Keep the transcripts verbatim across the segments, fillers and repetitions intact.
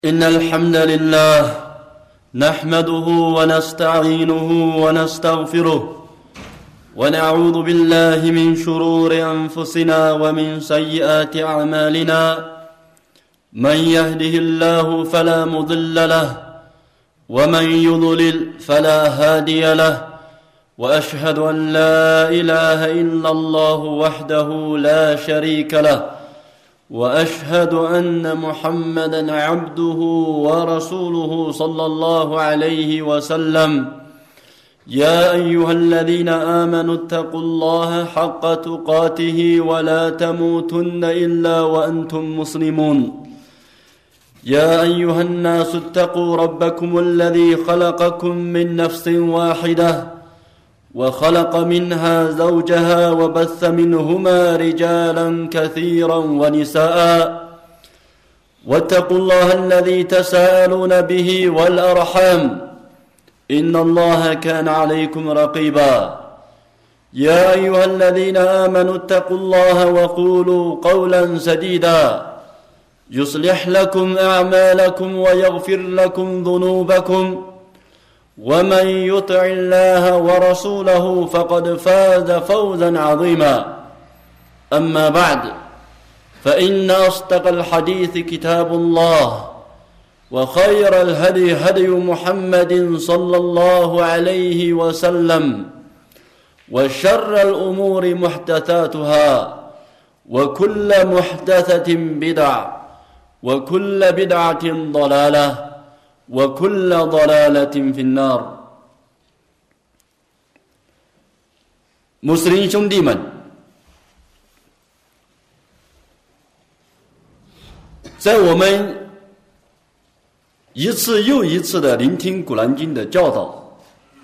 إن الحمد لله نحمده ونستعينه ونستغفره ونعوذ بالله من شرور أنفسنا ومن سيئات أعمالنا من يهده الله فلا مضل له ومن يضلل فلا هادي له وأشهد أن لا إله إلا الله وحده لا شريك له وأشهد أن محمدًا عبده ورسوله صلى الله عليه وسلم يا أيها الذين آمنوا اتقوا الله حق تقاته ولا تموتن إلا وأنتم مسلمون يا أيها الناس اتقوا ربكم الذي خلقكم من نفس واحدة وخلق منها زوجها وبث منهما رجالا كثيرا ونساء واتقوا الله الذي تساءلون به والأرحام إن الله كان عليكم رقيبا يا أيها الذين آمنوا اتقوا الله وقولوا قولا سديدا يصلح لكم أعمالكم ويغفر لكم ذنوبكم ومن يطع الله ورسوله فقد فاز فوزا عظيما أما بعد فإن أصدق الحديث كتاب الله وخير الهدي هدي محمد صلى الله عليه وسلم وشر الأمور محدثاتها وكل محدثة بدعة وكل بدعة ضلالة وكل ضلالة في النار。 穆斯林兄弟们，在我们一次又一次的聆听古兰经的教导，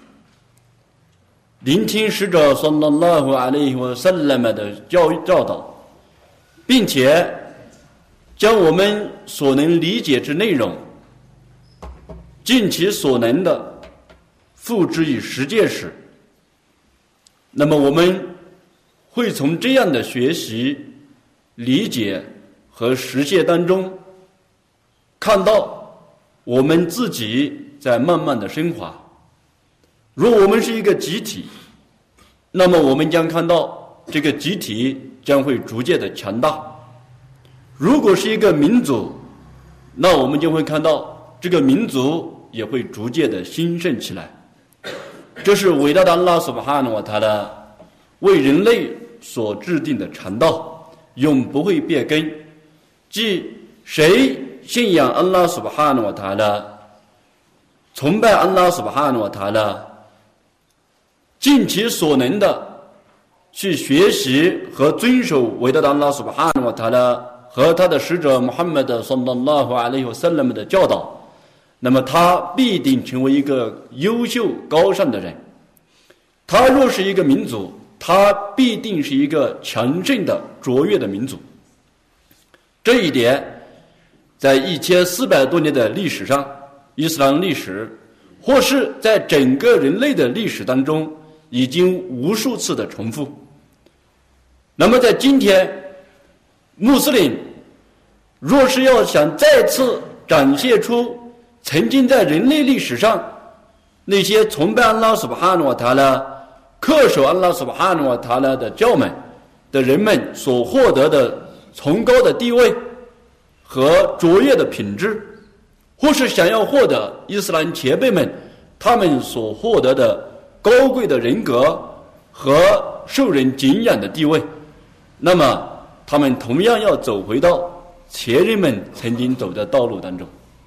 聆听使者صلى الله عليه وسلم的教教导，并且将我们所能理解之内容尽其所能的付之于实践时，那么我们会从这样的学习、理解和实践当中看到我们自己在慢慢的升华。如果我们是一个集体，那么我们将看到这个集体将会逐渐的强大；如果是一个民族，那我们就会看到这个民族也会逐渐的兴盛起来。这是伟大的安拉苏巴哈纳瓦塔拉为人类所制定的禅道，永不会变更。即谁信仰安拉苏巴哈纳瓦塔拉，崇拜安拉苏巴哈纳瓦塔拉，尽其所能的去学习和遵守伟大的安拉苏巴哈纳瓦塔拉和他的使者穆罕默德 sallallahu alaihi wasallam 的教导，那么他必定成为一个优秀高尚的人。他若是一个民族，他必定是一个强盛的卓越的民族。这一点在一千四百多年的历史上，伊斯兰历史或是在整个人类的历史当中已经无数次的重复。那么在今天，穆斯林若是要想再次展现出曾经在人类历史上那些崇拜安拉苏巴哈纳瓦塔拉、恪守安拉苏巴哈纳瓦塔拉的教门的人们所获得的崇高的地位和卓越的品质，或是想要获得伊斯兰前辈们他们所获得的高贵的人格和受人敬仰的地位，那么他们同样要走回到前人们曾经走的道路当中。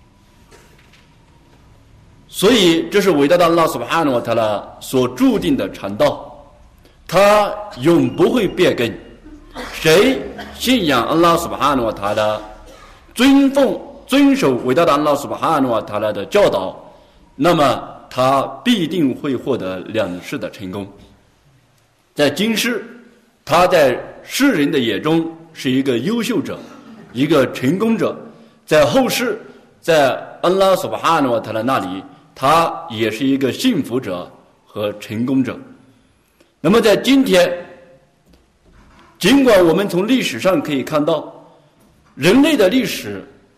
所以这是伟大的安拉苏巴哈纳瓦塔拉所注定的禅道，它永不会变更。谁信仰安拉苏巴哈纳瓦塔拉，尊奉遵守伟大的安拉苏巴哈纳瓦塔拉的教导，那么他必定会获得两世的成功。在今世，他在世人的眼中是一个优秀者，一个成功者；在后世，在安拉苏巴哈纳瓦塔拉那里，他也是一个幸福者和成功者。那么在今天，尽管我们从历史上可以看到人类的历史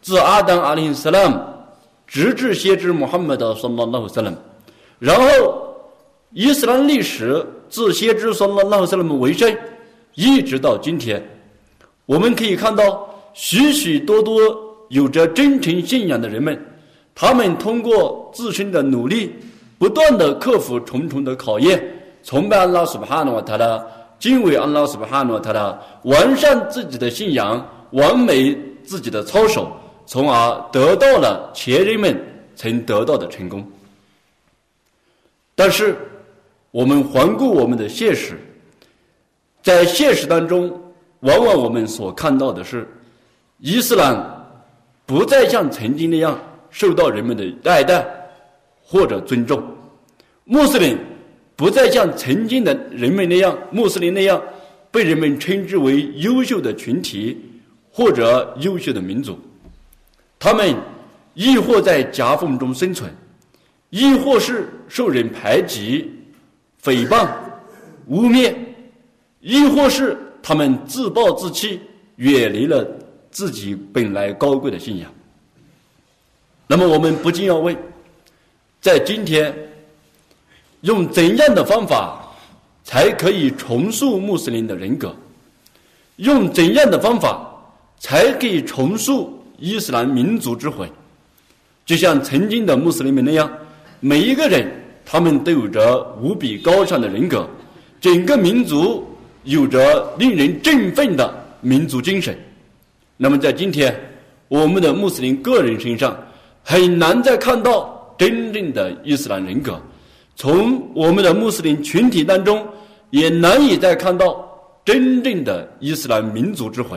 自阿当阿里·萨拉姆直至先知穆罕默德صلى الله عليه وسلم，然后伊斯兰历史自先知صلى الله عليه وسلم为生，一直到今天，我们可以看到许许多多有着真诚信仰的人们，他们通过自身的努力，不断地克服重重的考验，崇拜安拉苏巴哈诺瓦塔拉，敬畏安拉苏巴哈诺瓦塔拉，完善自己的信仰，完美自己的操守，从而得到了前人们曾得到的成功。但是我们环顾我们的现实，在现实当中，往往我们所看到的是，伊斯兰不再像曾经那样受到人们的爱戴或者尊重，穆斯林不再像曾经的人们那样，穆斯林那样被人们称之为优秀的群体或者优秀的民族，他们亦或在夹缝中生存，亦或是受人排挤、诽谤、污蔑，亦或是他们自暴自弃，远离了自己本来高贵的信仰。那么我们不禁要问，在今天用怎样的方法才可以重塑穆斯林的人格？用怎样的方法才可以重塑伊斯兰民族之魂？就像曾经的穆斯林们那样，每一个人他们都有着无比高尚的人格，整个民族有着令人振奋的民族精神。那么在今天，我们的穆斯林个人身上很难再看到真正的伊斯兰人格，从我们的穆斯林群体当中也难以再看到真正的伊斯兰民族之魂。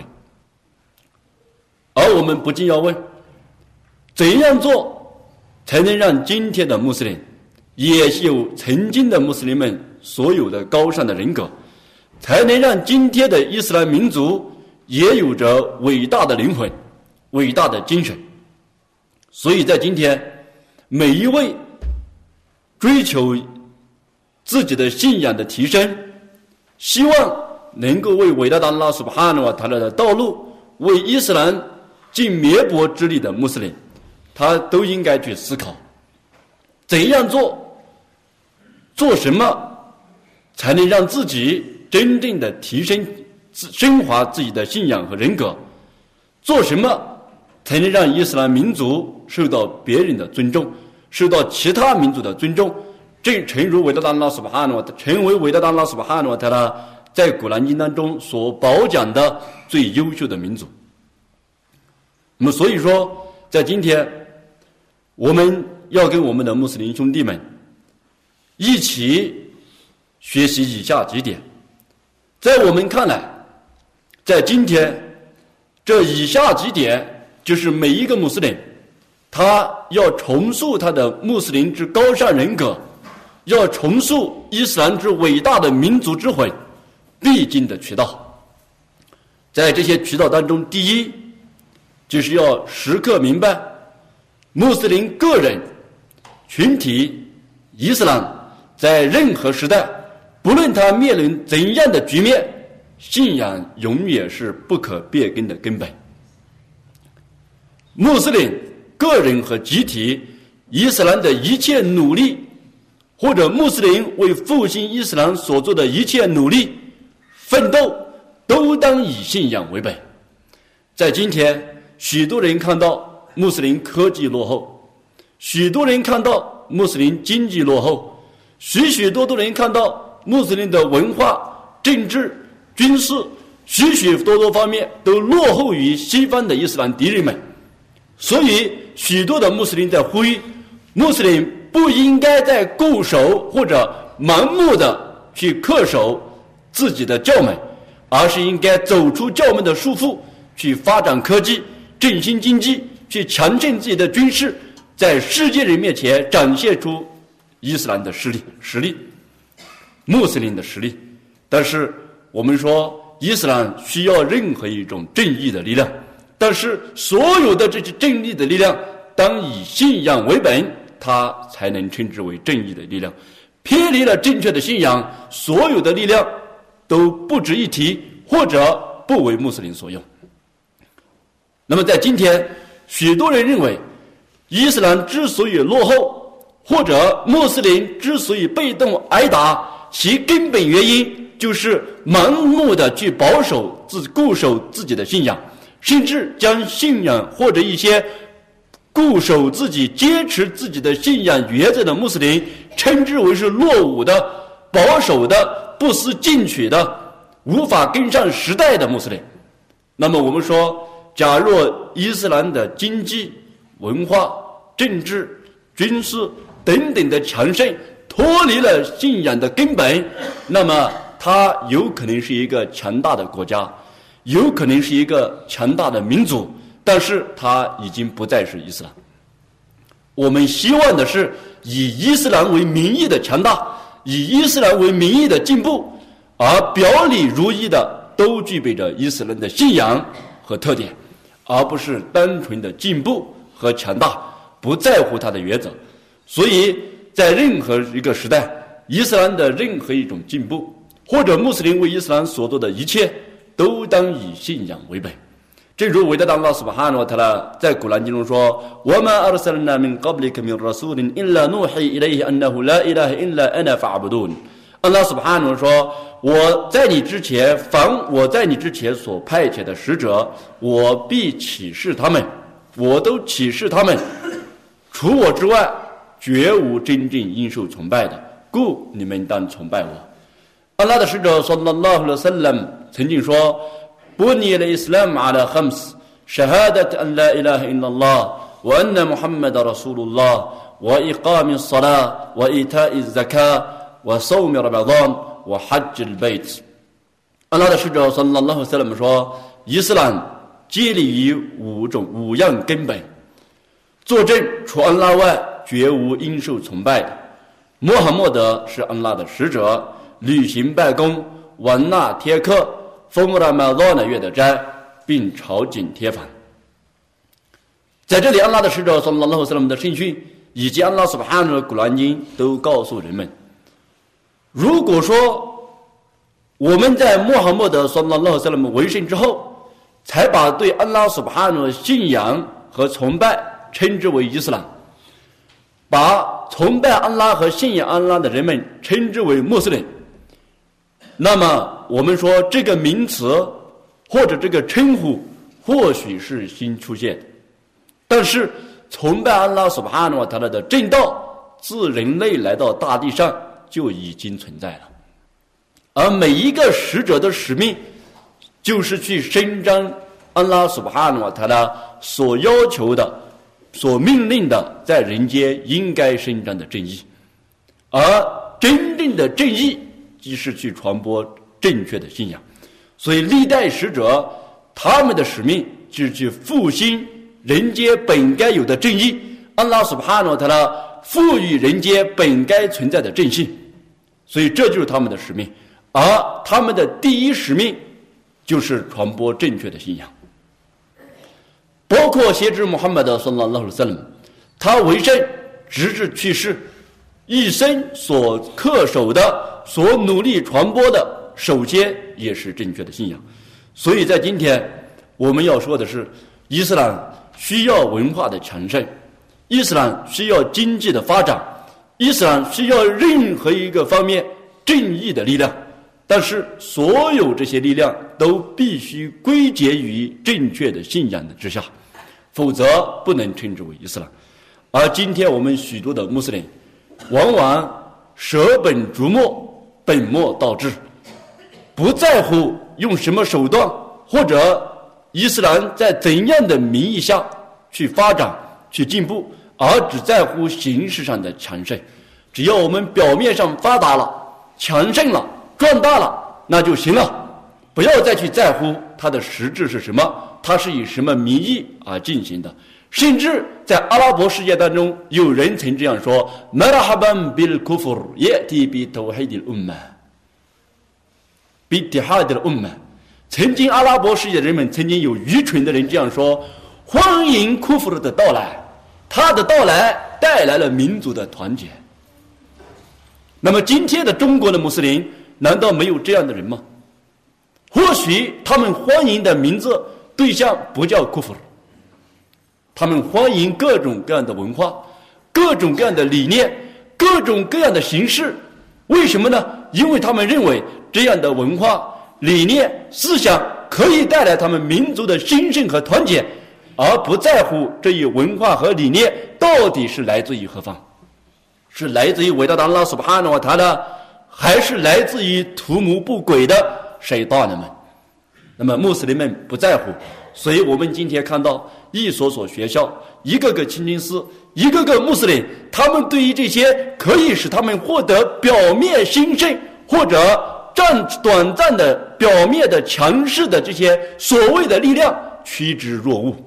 而我们不禁要问，怎样做才能让今天的穆斯林也有曾经的穆斯林们所有的高尚的人格，才能让今天的伊斯兰民族也有着伟大的灵魂、伟大的精神？所以在今天，每一位追求自己的信仰的提升，希望能够为伟大的安拉苏巴哈纳瓦塔拉的道路，为伊斯兰尽绵薄之力的穆斯林，他都应该去思考，怎样做，做什么才能让自己真正的提升、升华自己的信仰和人格？做什么才能让伊斯兰民族受到别人的尊重，受到其他民族的尊重？正诚如伟大的安拉苏巴哈纳瓦，成为伟大的安拉苏巴哈纳瓦塔拉在古兰经当中所褒奖的最优秀的民族。那么所以说，在今天我们要跟我们的穆斯林兄弟们一起学习以下几点。在我们看来，在今天这以下几点就是每一个穆斯林他要重塑他的穆斯林之高尚人格，要重塑伊斯兰之伟大的民族之魂必经的渠道。在这些渠道当中，第一就是要时刻明白，穆斯林个人、群体、伊斯兰在任何时代，不论他面临怎样的局面，信仰永远是不可变更的根本。穆斯林个人和集体，伊斯兰的一切努力，或者穆斯林为复兴伊斯兰所做的一切努力、奋斗，都当以信仰为本。在今天，许多人看到穆斯林科技落后，许多人看到穆斯林经济落后，许许多多人看到穆斯林的文化、政治、军事许许多多方面都落后于西方的伊斯兰敌人们。所以许多的穆斯林在呼吁，穆斯林不应该再固守或者盲目的去恪守自己的教门，而是应该走出教门的束缚，去发展科技、振兴经济，去强盛自己的军事，在世界人面前展现出伊斯兰的实力实力穆斯林的实力。但是我们说伊斯兰需要任何一种正义的力量，但是所有的这些正义的力量当以信仰为本，它才能称之为正义的力量。偏离了正确的信仰，所有的力量都不值一提，或者不为穆斯林所用。那么在今天， 许多人认为伊斯兰之所以落后，或者穆斯林之所以被动挨打，其根本原因就是盲目的去保守自固守自己的信仰，甚至将信仰或者一些固守自己坚持自己的信仰原则的穆斯林称之为是落伍的、保守的、不思进取的、无法跟上时代的穆斯林。那么我们说，假若伊斯兰的经济、文化、政治、军事等等的强盛脱离了信仰的根本，那么它有可能是一个强大的国家，有可能是一个强大的民族，但是它已经不再是伊斯兰。我们希望的是以伊斯兰为名义的强大，以伊斯兰为名义的进步，而表里如一的都具备着伊斯兰的信仰和特点，而不是单纯的进步和强大，不在乎它的原则。所以在任何一个时代，伊斯兰的任何一种进步，或者穆斯林为伊斯兰所做的一切，都当以信仰为本。正如伟大的安拉苏巴哈诺塔拉在古兰经中说：“我们أرسلنا من قبلك من رسول إلا نوحي إليه أنه لا إله إلا أنا فاعبدون。”安拉苏巴哈诺说：“我在你之前，凡我在你之前所派遣的使者，我必启示他们，我都启示他们，除我之外，绝无真正应受崇拜的，故你们当崇拜我。”安拉的使者 sallallahu alaihi wasallam 曾经说：“بني الإسلام على خمس شهادة أن لا إله إلا الله وأن محمد رسول الله وإقام الصلاة وإيتاء الزكاة وصوم رمضان وحج البيت。”安拉的使者 sallallahu alaihi wasallam 说，伊斯兰建立于五种五样根本：作证除安拉外绝无应受崇拜的；穆罕默德是安拉的使者；履行拜功，完纳贴克，封拉马拉的月的斋，并朝觐贴反。在这里，安拉的使者 sallallahu alaihi wasallam 的圣训以及安拉苏巴哈诺的古兰经都告诉人们，如果说我们在穆罕默德 sallallahu alaihi wasallam 为圣之后，才把对安拉苏巴哈诺的信仰和崇拜称之为伊斯兰，把崇拜安拉和信仰安拉的人们称之为穆斯林，那么我们说这个名词或者这个称呼或许是新出现的，但是崇拜安拉苏巴哈诺瓦塔拉的正道自人类来到大地上就已经存在了，而每一个使者的使命就是去伸张安拉苏巴哈诺瓦塔拉所要求的、所命令的在人间应该伸张的正义，而真正的正义即是去传播正确的信仰。所以历代使者他们的使命就是去复兴人间本该有的正义，安拉苏巴哈诺瓦塔拉赋予人间本该存在的正信，所以这就是他们的使命。而他们的第一使命就是传播正确的信仰。包括先知穆罕默德 sallallahu alaihi wasallam 他为圣直至去世，一生所恪守的、所努力传播的，首先也是正确的信仰。所以在今天我们要说的是，伊斯兰需要文化的强盛，伊斯兰需要经济的发展，伊斯兰需要任何一个方面正义的力量，但是所有这些力量都必须归结于正确的信仰的之下，否则不能称之为伊斯兰。而今天我们许多的穆斯林往往舍本逐末，本末倒置，不在乎用什么手段或者伊斯兰在怎样的名义下去发展去进步，而只在乎形式上的强盛。只要我们表面上发达了、强盛了、壮大了，那就行了，不要再去在乎它的实质是什么，它是以什么名义而进行的。甚至在阿拉伯世界当中，有人曾这样说 مرحبا بالكفر يأتي بتوحيد الأمة باتحاد الأمة。 曾经阿拉伯世界的人们曾经有愚蠢的人这样说，欢迎库弗的到来，他的到来带来了民族的团结。那么今天的中国的穆斯林难道没有这样的人吗？或许他们欢迎的名字对象不叫库弗， 他们欢迎各种各样的文化，各种各样的理念，各种各样的形式。为什么呢？因为他们认为这样的文化、理念、思想可以带来他们民族的兴盛和团结，而不在乎这一文化和理念到底是来自于何方，是来自于伟大的安拉苏巴哈纳瓦塔拉，还是来自于图谋不轨的谁大人们。那么穆斯林们不在乎，所以我们今天看到一所所学校，一个个清真寺，一个个穆斯林，他们对于这些可以使他们获得表面兴盛或者占短暂的表面的强势的这些所谓的力量趋之若鹜。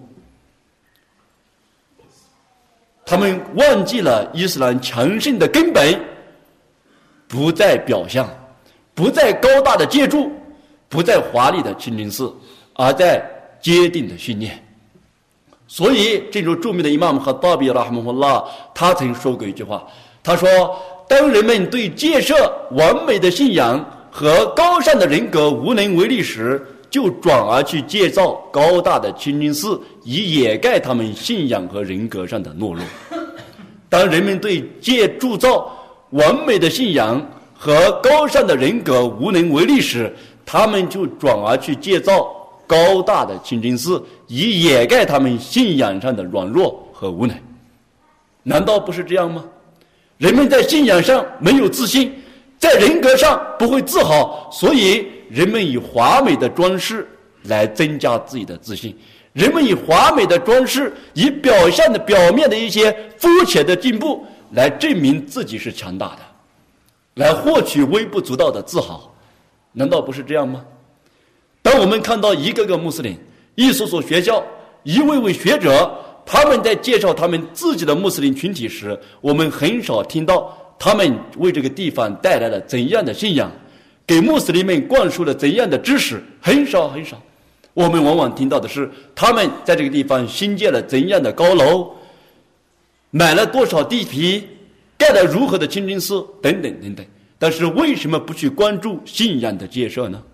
他们忘记了伊斯兰强盛的根本，不在表象，不在高大的建筑，不在华丽的清真寺，而在坚定的信念。所以正如著名的伊玛目哈达比拉哈姆胡拉，他曾说过一句话，他说，当人们对建设完美的信仰和高尚的人格无能为力时，就转而去建造高大的清真寺，以掩盖他们信仰和人格上的懦弱。当人们对建铸造完美的信仰和高尚的人格无能为力时，他们就转而去建造高大的清真寺，以掩盖他们信仰上的软弱和无能。难道不是这样吗？人们在信仰上没有自信，在人格上不会自豪，所以人们以华美的装饰来增加自己的自信，人们以华美的装饰，以表现的表面的一些肤浅的进步来证明自己是强大的，来获取微不足道的自豪。难道不是这样吗？当我们看到一个个穆斯林，一所所学校，一位位学者，他们在介绍他们自己的穆斯林群体时，我们很少听到他们为这个地方带来了怎样的信仰，给穆斯林们灌输了怎样的知识，很少很少。我们往往听到的是他们在这个地方新建了怎样的高楼，买了多少地皮，盖了如何的清真寺等等等等。但是为什么不去关注信仰的建设呢？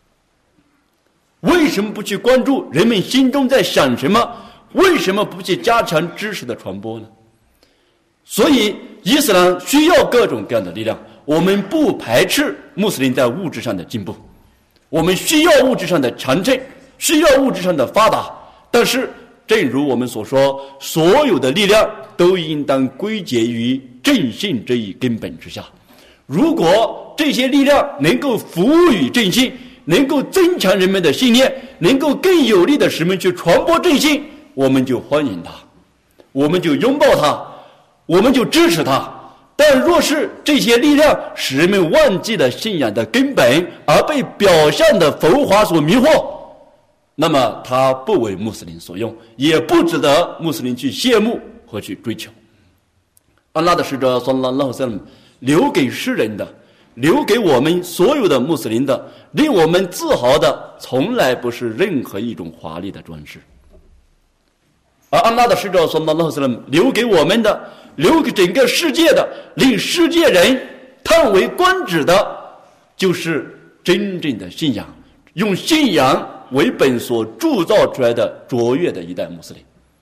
为什么不去关注人们心中在想什么？为什么不去加强知识的传播呢？所以伊斯兰需要各种各样的力量，我们不排斥穆斯林在物质上的进步，我们需要物质上的强盛，需要物质上的发达，但是正如我们所说，所有的力量都应当归结于正信这一根本之下。如果这些力量能够服务于正信，能够增强人们的信念，能够更有力的使人们去传播正信，我们就欢迎它，我们就拥抱它，我们就支持它。但若是这些力量使人们忘记了信仰的根本，而被表象的浮华所迷惑，那么它不为穆斯林所用，也不值得穆斯林去羡慕和去追求。安拉的使者sallallahu alaihi wasallam留给世人的，留给我们所有的穆斯林的，令我们自豪的，从来不是任何一种华丽的装饰。而安拉的使者sallallahu alaihi wasallam留给我们的，留给整个世界的，令世界人叹为观止的，就是真正的信仰，用信仰为本所铸造出来的卓越的一代穆斯林。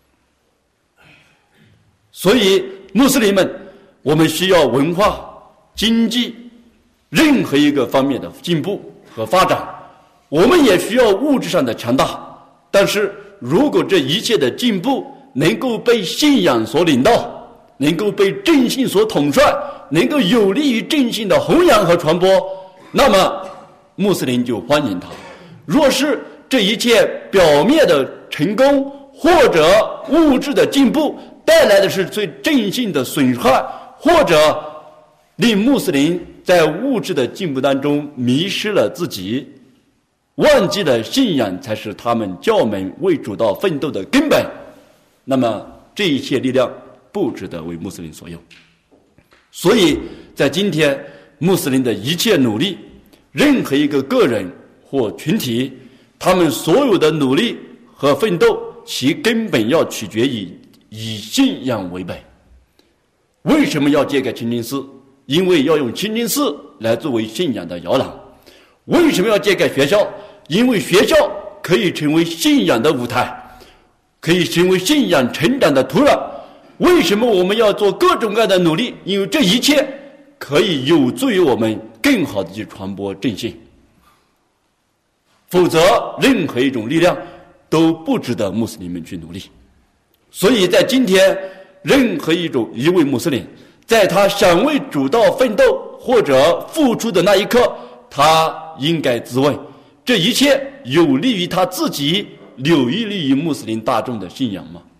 所以穆斯林们，我们需要文化、经济任何一个方面的进步和发展，我们也需要物质上的强大。但是如果这一切的进步能够被信仰所领导，能够被正信所统帅，能够有利于正信的弘扬和传播，那么穆斯林就欢迎他。若是这一切表面的成功或者物质的进步带来的是最正信的损害，或者令穆斯林在物质的进步当中迷失了自己，忘记了信仰才是他们教门为主道奋斗的根本，那么这一切力量不值得为穆斯林所用。所以在今天穆斯林的一切努力，任何一个个人或群体，他们所有的努力和奋斗，其根本要取决于以信仰为本。为什么要建个清真寺？因为要用清真寺来作为信仰的摇篮。为什么要建个学校？因为学校可以成为信仰的舞台。 可以成为信仰成长的土壤。为什么我们要做各种各样的努力？因为这一切可以有助于我们更好的去传播正信，否则任何一种力量都不值得穆斯林们去努力。所以在今天，任何一种一位穆斯林在他想为主道奋斗或者付出的那一刻，他应该自问，这一切有利于他自己，有利于穆斯林大众的信仰吗？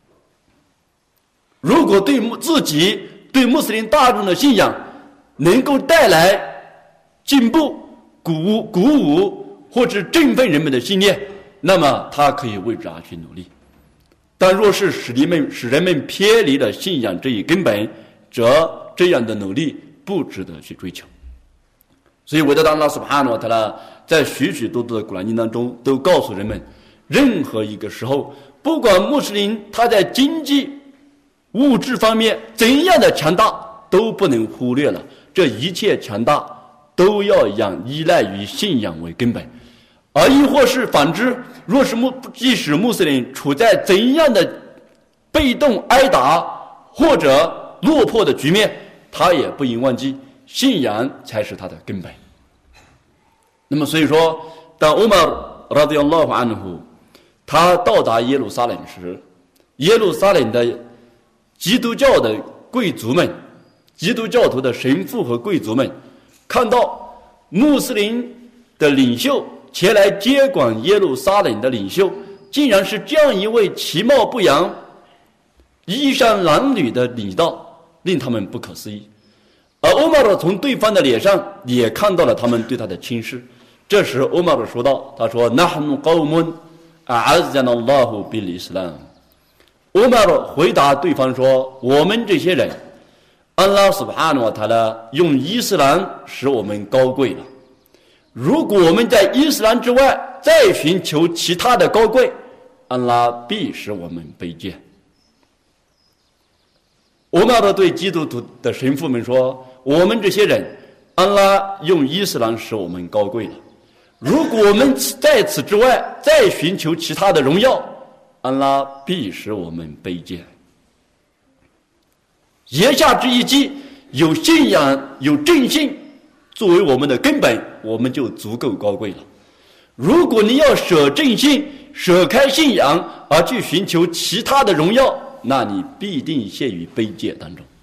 如果对自己对穆斯林大众的信仰能够带来进步、鼓舞、鼓舞或者振奋人们的信念，那么他可以为之而去努力。但若是使人们使人们偏离了信仰这一根本，则这样的努力不值得去追求。所以伟大的安拉苏布哈纳瓦塔拉在许许多多的古兰经当中都告诉人们，任何一个时候，不管穆斯林他在经济物质方面怎样的强大，都不能忽略了这一切强大都要让依赖于信仰为根本。而亦或是反之，若是穆即使穆斯林处在怎样的被动挨打或者落魄的局面，他也不应忘记信仰才是他的根本。那么所以说，当欧麦尔拉迪亚拉安胡他到达耶路撒冷时，耶路撒冷的基督教的贵族们，基督教徒的神父和贵族们看到穆斯林的领袖前来接管耶路撒冷的领袖，竟然是这样一位其貌不扬、衣衫褴褛的领导，令他们不可思议。而欧麦尔从对方的脸上也看到了他们对他的轻视。这时欧麦尔说道，他说 نحن قوم أعزنا الله بالإسلام。 欧麦尔回答对方说，我们这些人，安拉苏布哈纳瓦塔拉用伊斯兰使我们高贵了，如果我们在伊斯兰之外再寻求其他的高贵，安拉必使我们卑贱。欧麦尔对基督徒的神父们说，我们这些人，安拉用伊斯兰使我们高贵了，如果我们在此之外再寻求其他的荣耀，安拉必使我们卑贱。言下之意即，有信仰有正信作为我们的根本，我们就足够高贵了。如果你要舍正信，舍开信仰而去寻求其他的荣耀，那你必定陷于卑贱当中。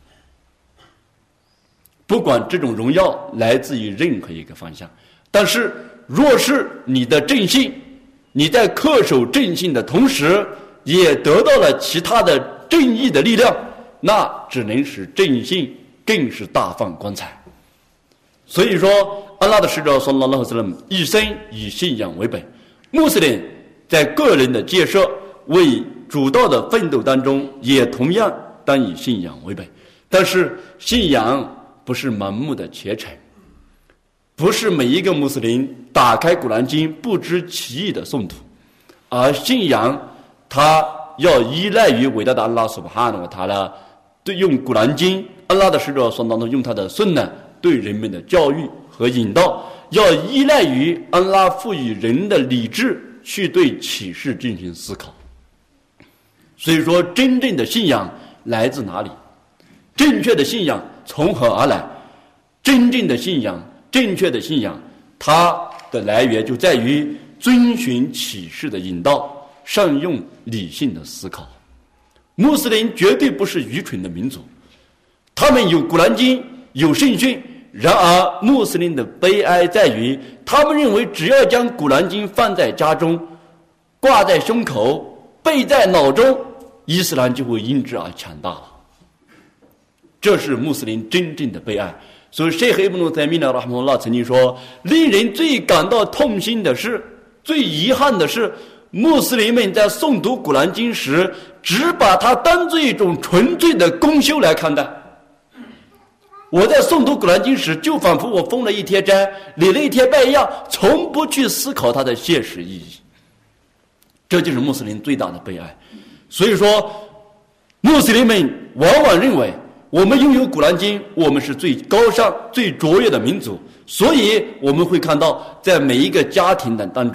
不管这种荣耀来自于任何一个方向，但是若是你的正信，你在恪守正信的同时也得到了其他的正义的力量，那只能使正信更是大放光彩。所以说，安拉的使者sallallahu alaihi wasallam一生以信仰为本，穆斯林在个人的建设为主道的奋斗当中也同样当以信仰为本。但是信仰不是盲目的虔诚，不是每一个穆斯林打开古兰经不知其意的诵读，而信仰它要依赖于伟大的安拉苏布哈纳瓦塔拉对用古兰经，安拉的使者所当中用他的顺呢对人们的教育和引导，要依赖于安拉赋予人的理智去对启示进行思考。所以说，真正的信仰来自哪里？正确的信仰从何而来？真正的信仰，正确的信仰，它的来源就在于遵循启示的引导，善用理性的思考。穆斯林绝对不是愚蠢的民族，他们有古兰经，有圣训。然而穆斯林的悲哀在于，他们认为只要将古兰经放在家中，挂在胸口，背在脑中，伊斯兰就会因之而强大了。这是穆斯林真正的悲哀。所以谢赫伊布努塞米纳拉哈姆拉曾经说，令人最感到痛心的是，最遗憾的是，穆斯林们在诵读古兰经时只把它当作一种纯粹的功修来看待。我在诵读古兰经时，就仿佛我封了一天斋，礼了一天拜一样，从不去思考它的现实意义。这就是穆斯林最大的悲哀。所以说，穆斯林们往往认为我们拥有古兰经，我们是最高尚最卓越的民族。所以我们会看到，在每一个家庭的当中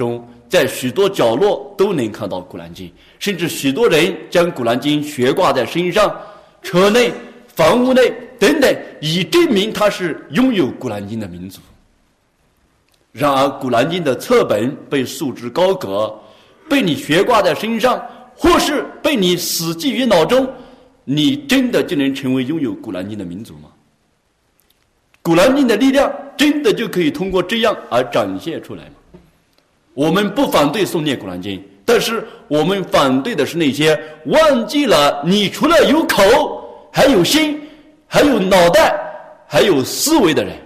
在许多角落都能看到古兰经，甚至许多人将古兰经悬挂在身上、车内、房屋内等等，以证明他是拥有古兰经的民族。然而古兰经的册本被束之高阁，被你悬挂在身上，或是被你死记于脑中，你真的就能成为拥有古兰经的民族吗？古兰经的力量真的就可以通过这样而展现出来吗？我们不反对诵念古兰经，但是我们反对的是那些忘记了你除了有口还有心还有脑袋还有思维的人。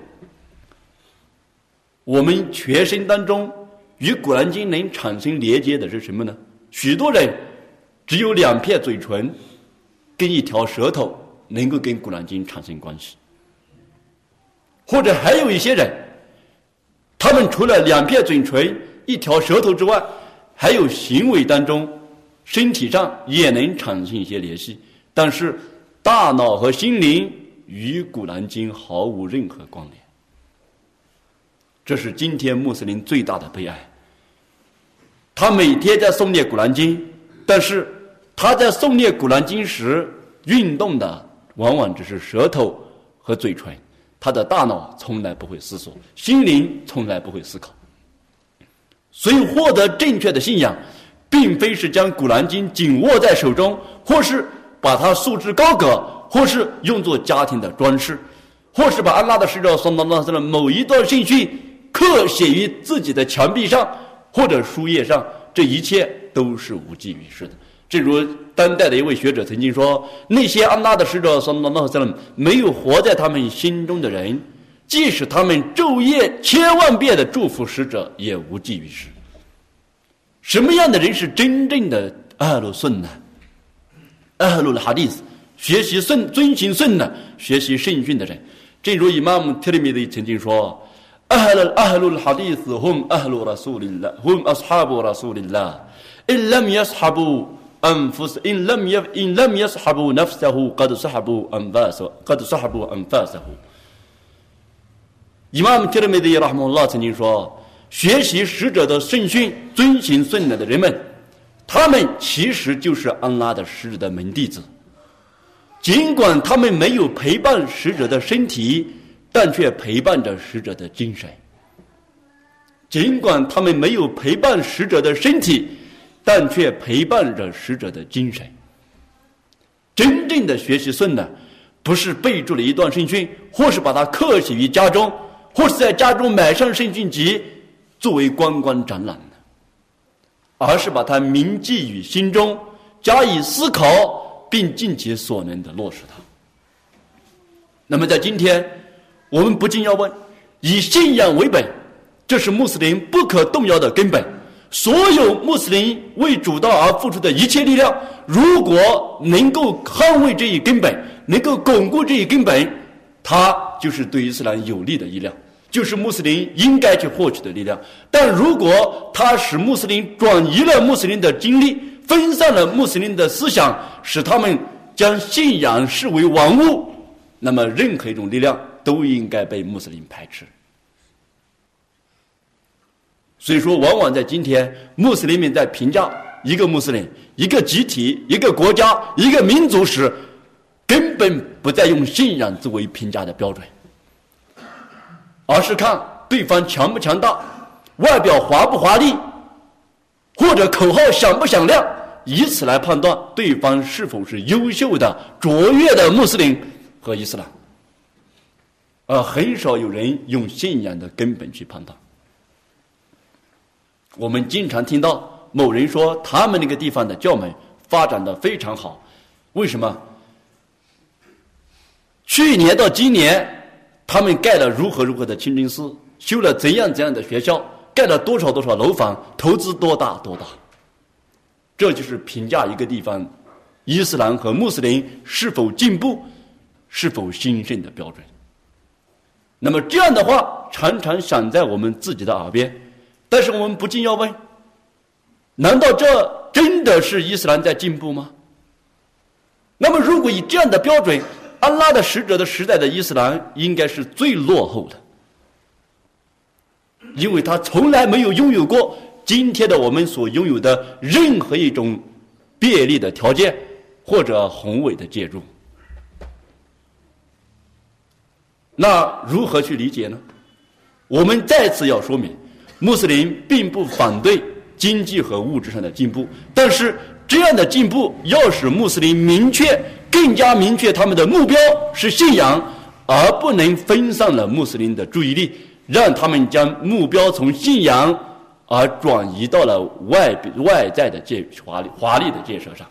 我们全身当中与古兰经能产生连接的是什么呢？许多人只有两片嘴唇跟一条舌头能够跟古兰经产生关系，或者还有一些人，他们除了两片嘴唇一条舌头之外，还有行为当中身体上也能产生一些联系，但是大脑和心灵与古兰经毫无任何关联。这是今天穆斯林最大的悲哀。他每天在诵念古兰经，但是他在诵念古兰经时运动的往往只是舌头和嘴唇，他的大脑从来不会思索，心灵从来不会思考。所以获得正确的信仰，并非是将古兰经紧握在手中，或是把它束之高阁，或是用作家庭的装饰，或是把安拉的使者送到那的某一段圣训刻写于自己的墙壁上或者书页上，这一切都是无济于事的。正如当代的一位学者曾经说，那些安拉的使者没有活在他们心中的人，即使他们昼夜千万遍的祝福使者，也无济于事。什么样的人是真正的阿鲁顺呢？阿鲁哈迪斯，学习顺遵行顺呢，学习圣训的人。正如伊玛目提里米的曾经说，阿鲁阿鲁哈迪斯 هم 阿鲁拉苏林拉 هم أصحاب رسول الله إن لم يصحبوا أنفس إن لم يف إن لم يصحبوا نفسه قد صحبوا أنفاسه قد صحبوا أنفاسه。伊玛目提里米的拉姆拉曾经说，学习使者的圣训、遵行顺的人们，他们其实就是安拉的使者的门弟子。尽管他们没有陪伴使者的身体，但却陪伴着使者的精神。尽管他们没有陪伴使者的身体，但却陪伴着使者的精神。真正的学习顺的，不是背住了一段圣训，或是把它刻写于家中，或是在家中买上圣训集作为观光展览的，而是把它铭记于心中，加以思考，并尽其所能的落实它。那么在今天，我们不禁要问，以信仰为本，这是穆斯林不可动摇的根本。所有穆斯林为主道而付出的一切力量，如果能够捍卫这一根本，能够巩固这一根本，它就是对伊斯兰有利的力量，就是穆斯林应该去获取的力量。但如果它使穆斯林转移了穆斯林的精力，分散了穆斯林的思想，使他们将信仰视为玩物，那么任何一种力量都应该被穆斯林排斥。所以说，往往在今天，穆斯林们在评价一个穆斯林、一个集体、一个国家、一个民族时，根本不再用信仰作为评价的标准，而是看对方强不强大，外表华不华丽，或者口号响不响亮，以此来判断对方是否是优秀的、卓越的穆斯林和伊斯兰，而很少有人用信仰的根本去判断。我们经常听到某人说他们那个地方的教门发展的非常好，为什么？去年到今年他们盖了如何如何的清真寺，修了怎样怎样的学校，盖了多少多少楼房，投资多大多大。这就是评价一个地方伊斯兰和穆斯林是否进步、是否兴盛的标准。那么这样的话常常响在我们自己的耳边，但是我们不禁要问，难道这真的是伊斯兰在进步吗？那么如果以这样的标准，安拉的使者的时代的伊斯兰应该是最落后的，因为他从来没有拥有过今天的我们所拥有的任何一种便利的条件或者宏伟的建筑。那如何去理解呢？我们再次要说明，穆斯林并不反对经济和物质上的进步，但是这样的进步要使穆斯林明确更加明确他们的目标是信仰，而不能分散了穆斯林的注意力，让他们将目标从信仰而转移到了外外在的建华丽华丽的建设上。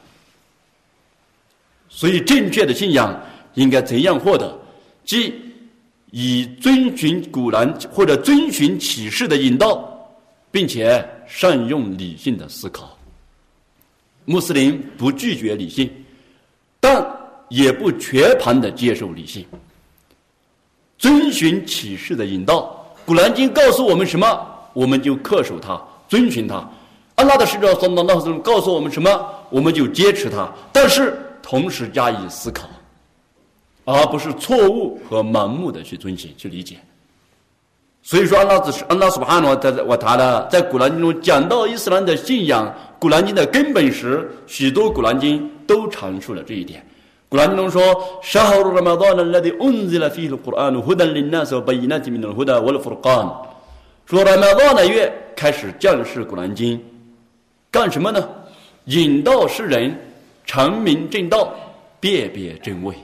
所以正确的信仰应该怎样获得？即以遵循古兰或者遵循启示的引导，并且善用理性的思考。穆斯林不拒绝理性，但也不全盘的接受理性。遵循启示的引导，古兰经告诉我们什么，我们就恪守它，遵循它。安拉的使者sallallahu alaihi wasallam告诉我们什么，我们就坚持它，但是同时加以思考，而不是错误和盲目的去遵循去理解。所以说安拉只是安拉苏巴哈诺wa ta'ala在古兰经中讲到伊斯兰的信仰，古兰经的根本时，许多古兰经都阐述了这一点。古兰经中说 شهر رمضان الذي أنزل فيه القرآن هدى للناس وبينات من الهدى والفرقان 说 Ramadan 的月开始降世古兰经，干什么呢？引导世人阐明正道，辨别真伪。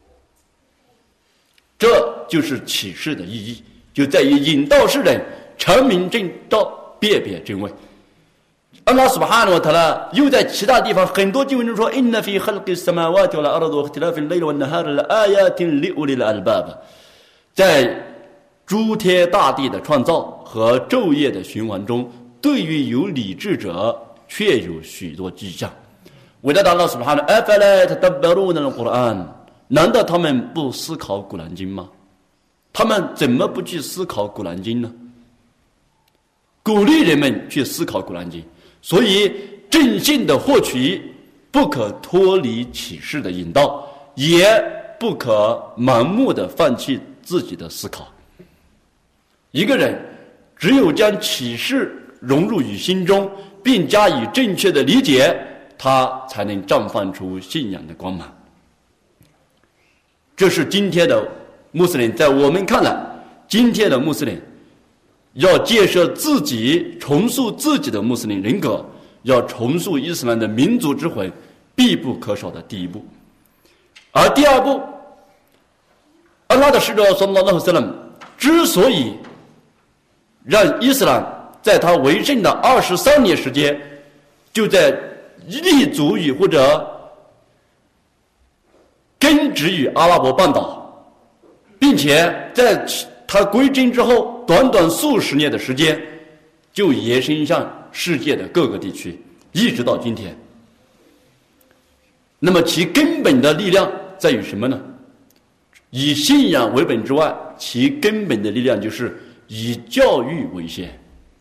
这就是启示的意义，就在于引导世人阐明正道，辨别真伪。安拉 سبحانه และ تعالى 又在其他地方很多经文中说 إن في خلق السماوات والأرض واختلاف الليل والنهار لآيات لأولي الألباب 在诸天大地的创造和昼夜的循环中，对于有理智者确有许多迹象。伟大的安拉 سبحانه أفلا يتدبرون القرآن 难道他们不思考古兰经吗？他们怎么不去思考古兰经呢？鼓励人们去思考古兰经，所以正信的获取不可脱离启示的引导，也不可盲目的放弃自己的思考。一个人只有将启示融入于心中，并加以正确的理解，他才能绽放出信仰的光芒。这是今天的穆斯林，在我们看来，今天的穆斯林要建设自己，重塑自己的穆斯林人格，要重塑伊斯兰的民族之魂，必不可少的第一步。而第二步，安拉的使者sallallahu alaihi wasallam之所以让伊斯兰在他为政的二十三年时间，就在立足于或者根植于阿拉伯半岛，并且在他归真之后短短数十年的时间，就延伸向世界的各个地区，一直到今天。那么其根本的力量在于什么呢？以信仰为本之外，其根本的力量就是以教育为先，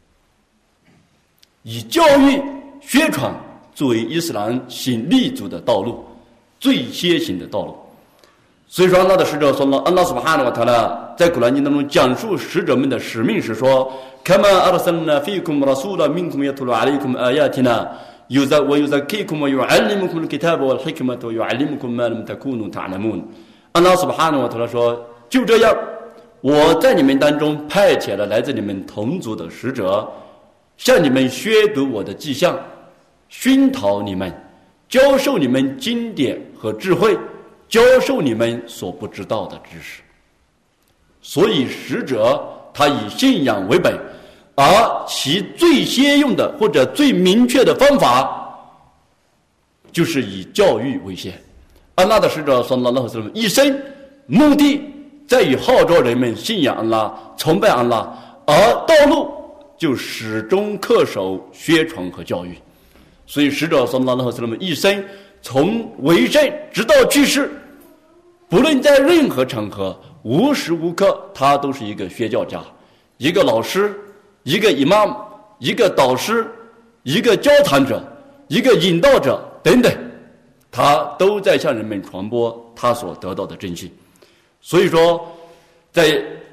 以教育宣传作为伊斯兰行立足的道路，最先行的道路。所以说安拉的使者说了，安拉 سبحانه และ تعالى 在古兰经当中讲述使者们的使命时说 كما أرسلنا فيكم رسولا منكم يتلو عليكم آياتنا ويزكيكم ويعلمكم الكتاب والحكمة ويعلمكم ما لم تكونوا تعلمون 安拉 سبحانه และ تعالى 说，就这样，我在你们当中派遣了来自你们同族的使者，向你们宣读我的迹象，熏陶你们，教授你们经典和智慧，教授你们所不知道的知识。所以使者他以信仰为本，而其最先用的或者最明确的方法就是以教育为先。安拉的使者sallallahu alaihi wasallam一生目的在于号召人们信仰安拉，崇拜安拉，而道路就始终恪守宣传和教育。所以使者sallallahu alaihi wasallam一生从为圣直到去世，不论在任何场合，无时无刻他都是一个宣教家，一个老师，一个 imam， 一个导师，一个教谈者，一个引导者等等，他都在向人们传播他所得到的真信。所以说在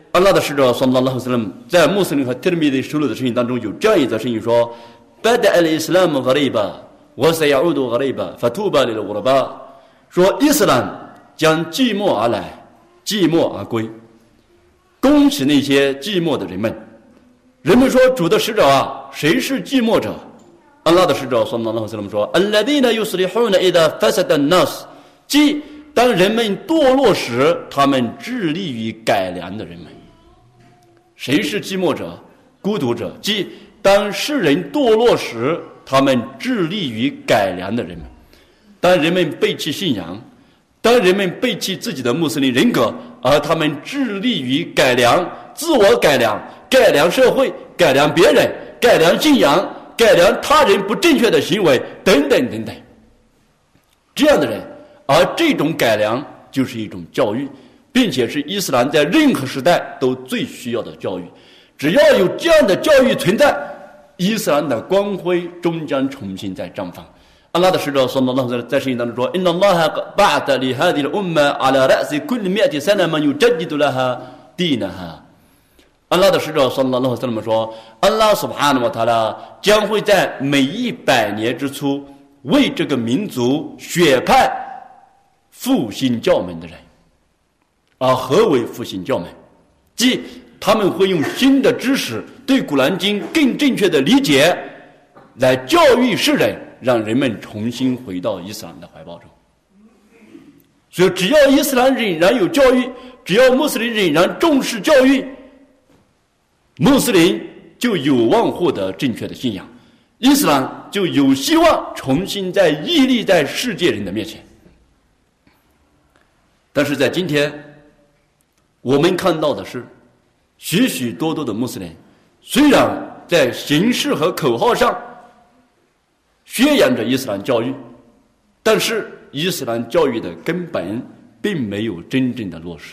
安拉的使者 sallallahu alaihi wasallam 在穆斯林和提尔米的收录的声音当中有这样一则声音说 بدأ الإسلام غريبا وسيعود غريبا فتوبى للغرباء 说伊斯兰将寂寞而来，寂寞而归，恭喜那些寂寞的人们。人们说主的使者啊，谁是寂寞者？安拉的使者 sallallahu alaihi wasallam 说 الذين يصلحون إذا فسد الناس 即当人们堕落时，他们致力于改良的人们。谁是寂寞者、孤独者？即当世人堕落时，他们致力于改良的人们。当人们背弃信仰，当人们背弃自己的穆斯林人格，而他们致力于改良、自我改良、改良社会、改良别人、改良信仰、改良他人不正确的行为等等等等，这样的人，而这种改良就是一种教育，并且是伊斯兰在任何时代都最需要的教育。只要有这样的教育存在，伊斯兰的光辉终将重新再绽放。安拉的使者 sallallahu alaihi wasallam 在圣经当中说 إن الله بعث لهذه الأمة على رأس كل مئة سنة من يجدد لها دينها。安拉的使者 sallallahu alaihi wasallam 说，安拉 subhanahu wa ta'ala 将会在每一百年之初为这个民族选派复兴教门的人。而何为复兴教门？即他们会用新的知识对古兰经更正确的理解，来教育世人，让人们重新回到伊斯兰的怀抱中。所以只要伊斯兰仍然有教育，只要穆斯林仍然重视教育，穆斯林就有望获得正确的信仰，伊斯兰就有希望重新再屹立在世界人的面前。但是在今天我们看到的是，许许多多的穆斯林虽然在形式和口号上宣扬着伊斯兰教育，但是伊斯兰教育的根本并没有真正的落实。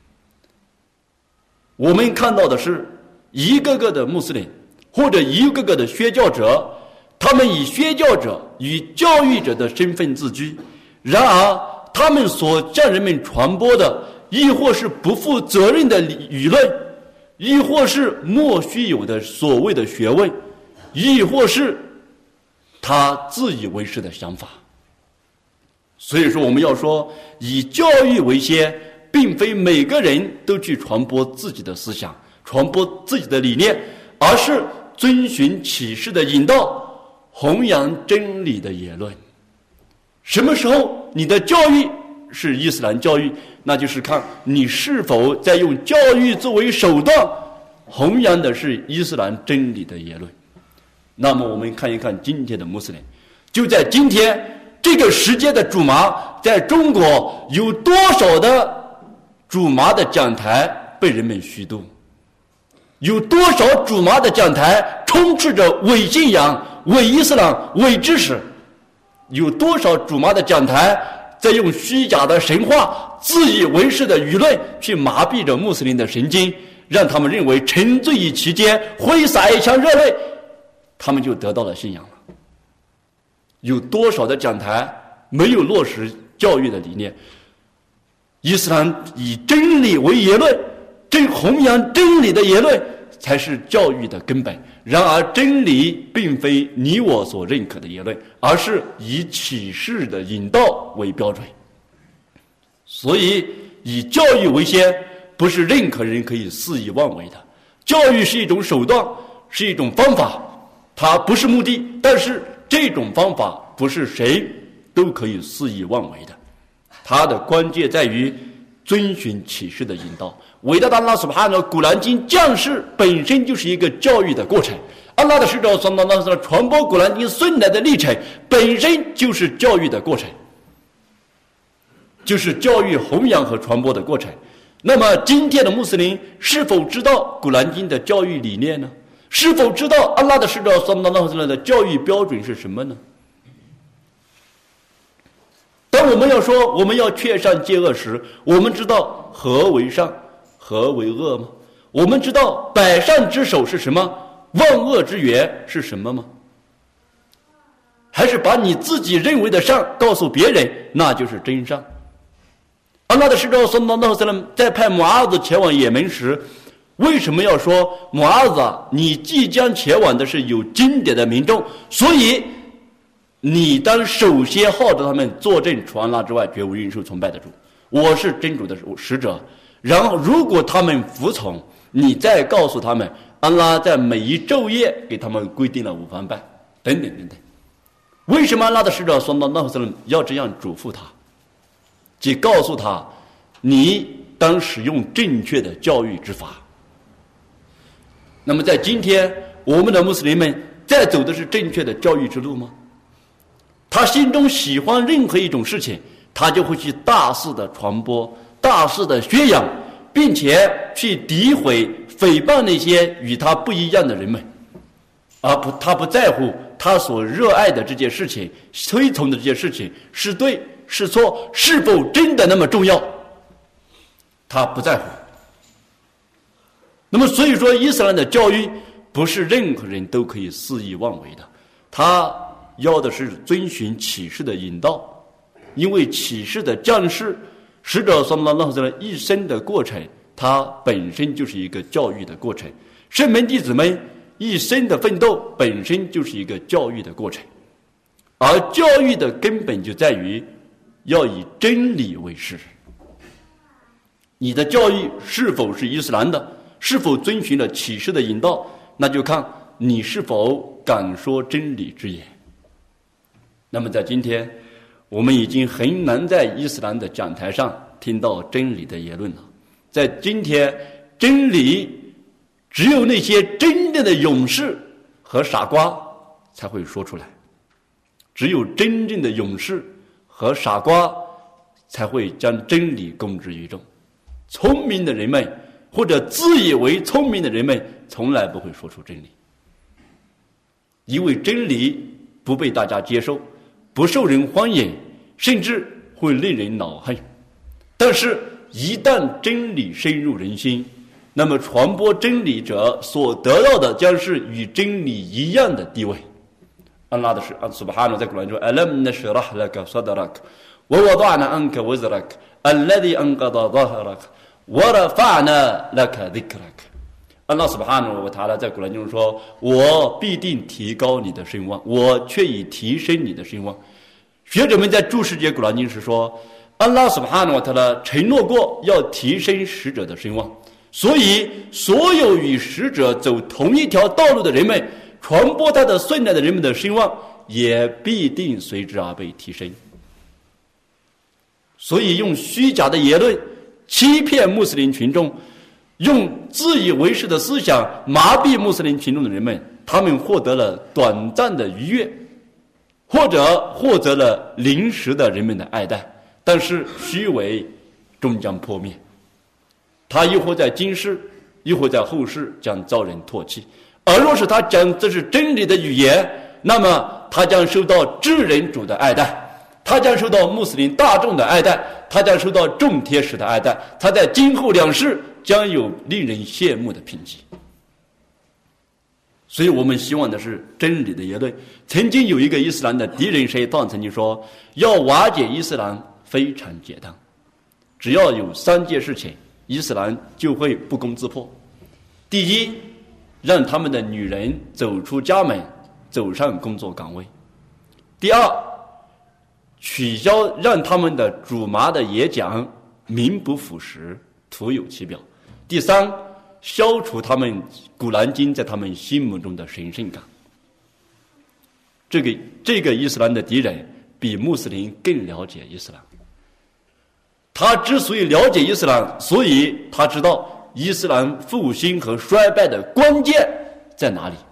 我们看到的是一个个的穆斯林或者一个个的宣教者，他们以宣教者与教育者的身份自居，然而他们所向人们传播的亦或是不负责任的舆论，亦或是莫须有的所谓的学问，亦或是他自以为是的想法。所以说我们要说以教育为先，并非每个人都去传播自己的思想，传播自己的理念，而是遵循启示的引导，弘扬真理的言论。什么时候你的教育是伊斯兰教育，那就是看你是否在用教育作为手段弘扬的是伊斯兰真理的言论。那么我们看一看今天的穆斯林，就在今天这个时间的主麻，在中国有多少的主麻的讲台被人们虚度，有多少主麻的讲台充斥着伪信仰、伪伊斯兰、伪知识，有多少主麻的讲台在用虚假的神话、自以为是的舆论去麻痹着穆斯林的神经，让他们认为沉醉于其间，挥洒一腔热泪，他们就得到了信仰了。有多少的讲台没有落实教育的理念？伊斯兰以真理为言论，真弘扬真理的言论才是教育的根本。然而真理并非你我所认可的言论，而是以启示的引导为标准。所以以教育为先，不是任何人可以肆意妄为的。教育是一种手段，是一种方法，它不是目的，但是这种方法不是谁都可以肆意妄为的。它的关键在于遵循启示的引导。伟大的安拉苏哈纳古兰经降世本身就是一个教育的过程，安拉的使者sallallahu alaihi wasallam传播古兰经顺来的历程本身就是教育的过程，就是教育弘扬和传播的过程。那么今天的穆斯林是否知道古兰经的教育理念呢？是否知道安拉的使者sallallahu alaihi wasallam的教育标准是什么呢？当我们要说我们要劝善戒恶时，我们知道何为善何为恶吗？我们知道百善之首是什么，万恶之源是什么吗？还是把你自己认为的善告诉别人，那就是真善。安拉的使者sallallahu alaihi wasallam在派穆阿子前往也门时， 为什么要说穆阿兹啊，你即将前往的是有经典的民众，所以你当首先号召他们作证除安拉之外绝无应受崇拜的主，我是真主的使者。然后如果他们服从，你再告诉他们安拉在每一昼夜给他们规定了午饭拜等等等等。为什么安拉的使者说到那时候要这样嘱咐他，即告诉他你当使用正确的教育之法。那么在今天我们的穆斯林们在走的是正确的教育之路吗？他心中喜欢任何一种事情，他就会去大肆的传播，大肆的宣扬，并且去诋毁诽谤那些与他不一样的人们，而不他不在乎他所热爱的这件事情，推崇的这件事情是对是错，是否真的那么重要，他不在乎。那么所以说伊斯兰的教育不是任何人都可以肆意妄为的，他要的是遵循启示的引导，因为启示的降世，使者所罗门的一生的过程，它本身就是一个教育的过程。圣门弟子们一生的奋斗本身就是一个教育的过程，而教育的根本就在于要以真理为师。你的教育是否是伊斯兰的，是否遵循了启示的引导，那就看你是否敢说真理之言。那么在今天我们已经很难在伊斯兰的讲台上听到真理的言论了。在今天真理只有那些真正的勇士和傻瓜才会说出来，只有真正的勇士和傻瓜才会将真理公之于众。聪明的人们或者自以为聪明的人们从来不会说出真理，因为真理不被大家接受，不受人欢迎，甚至会令人恼恨。但是一旦真理深入人心，那么传播真理者所得到的将是与真理一样的地位。安拉的是安苏巴哈诺在古兰说 Alam nashrah laka sadrak wa wada'na anka wizrak alladhi anqadha dhahrak wa rafa'na laka dhikrak。 安拉苏巴哈诺wa ta'ala在古兰中说，我必定提高你的声望，我却已提升你的声望。学者们在注释这古兰经时说，安拉苏巴哈诺wa ta'ala承诺过要提升使者的声望，所以所有与使者走同一条道路的人们，传播他的顺带的人们的声望也必定随之而被提升。所以用虚假的言论欺骗穆斯林群众，用自以为是的思想麻痹穆斯林群众的人们，他们获得了短暂的愉悦，或者获得了临时的人们的爱戴，但是虚伪终将破灭。他亦或在今世，亦或在后世将遭人唾弃。而若是他讲这是真理的语言，那么他将受到至人主的爱戴，他将受到穆斯林大众的爱戴，他将受到众天使的爱戴，他在今后两世将有令人羡慕的评级。所以我们希望的是真理的言论。曾经有一个伊斯兰的敌人谁当曾经说，要瓦解伊斯兰非常简单，只要有三件事情，伊斯兰就会不攻自破。第一，让他们的女人走出家门，走上工作岗位。第二，取消让他们的主麻的演讲名不副实，徒有其表。第三，消除他们古兰经在他们心目中的神圣感。这个这个伊斯兰的敌人比穆斯林更了解伊斯兰。他之所以了解伊斯兰，所以他知道伊斯兰复兴和衰败的关键在哪里。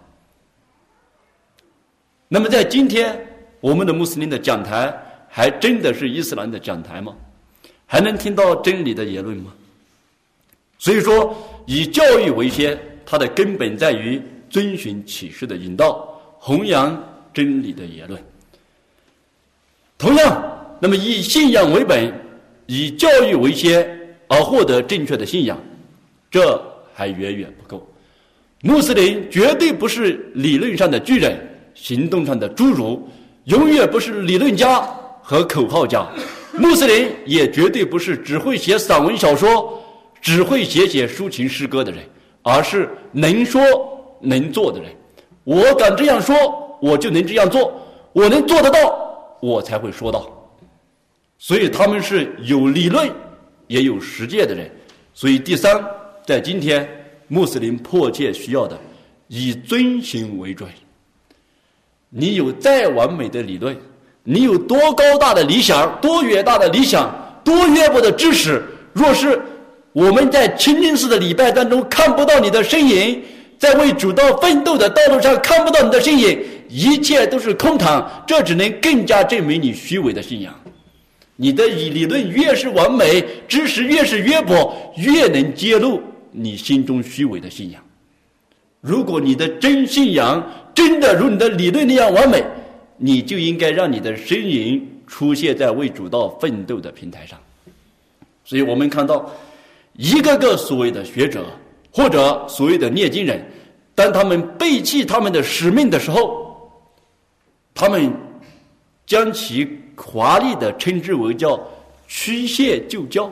那么在今天我们的穆斯林的讲台还真的是伊斯兰的讲台吗？还能听到真理的言论吗？所以说以教育为先，它的根本在于遵循启示的引导，弘扬真理的言论。同样，那么以信仰为本，以教育为先而获得正确的信仰，这还远远不够。穆斯林绝对不是理论上的巨人，行动上的侏儒，永远不是理论家和口号家。穆斯林也绝对不是只会写散文小说，只会写写抒情诗歌的人， 而是能说能做的人。我敢这样说，我就能这样做，我能做得到，我才会说到。所以他们是有理论也有实践的人。所以第三，在今天穆斯林迫切需要的，以遵循为准。你有再完美的理论，你有多高大的理想，多远大的理想，多渊博的知识，若是我们在清真寺的礼拜当中看不到你的身影，在为主道奋斗的道路上看不到你的身影，一切都是空谈，这只能更加证明你虚伪的信仰。你的理论越是完美，知识越是渊博，越能揭露你心中虚伪的信仰。如果你的真信仰真的如你的理论那样完美，你就应该让你的身影出现在为主道奋斗的平台上。所以我们看到一个个所谓的学者或者所谓的念经人，当他们背弃他们的使命的时候，他们将其华丽的称之为叫曲线救教。